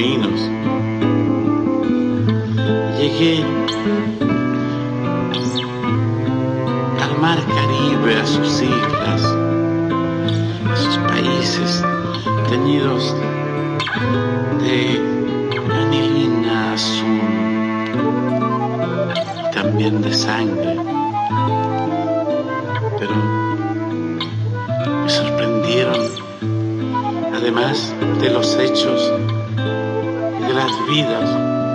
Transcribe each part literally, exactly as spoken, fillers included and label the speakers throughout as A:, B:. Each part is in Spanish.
A: caminos. Llegué al mar Caribe, a sus islas, a sus países teñidos de anilina azul, también de sangre. Pero me sorprendieron, además de los hechos y de las vidas,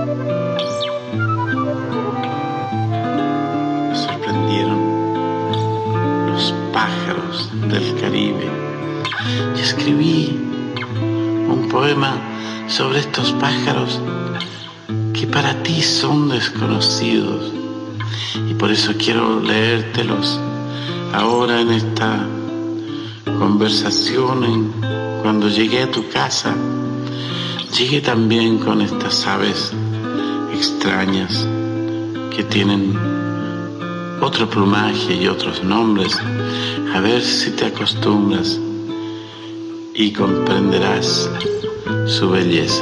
A: me sorprendieron los pájaros del Caribe. Y escribí un poema sobre estos pájaros que para ti son desconocidos, y por eso quiero leértelos ahora en esta conversación. En, cuando llegué a tu casa, llegué también con estas aves extrañas que tienen otro plumaje y otros nombres. A ver si te acostumbras y comprenderás su belleza.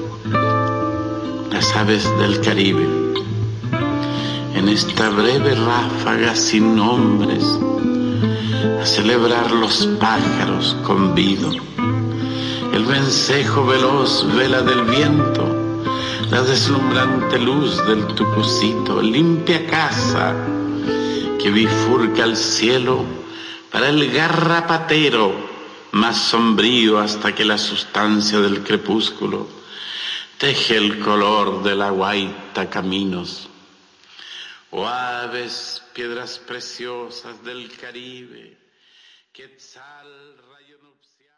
A: Las aves del Caribe, en esta breve ráfaga sin nombres, a celebrar los pájaros convido. El vencejo veloz vela del viento, la deslumbrante luz del tucucito, limpia casa que bifurca el cielo para el garrapatero más sombrío, hasta que la sustancia del crepúsculo teje el color de la guaita caminos. Oh aves, piedras preciosas del Caribe, quetzal, rayo nupcial.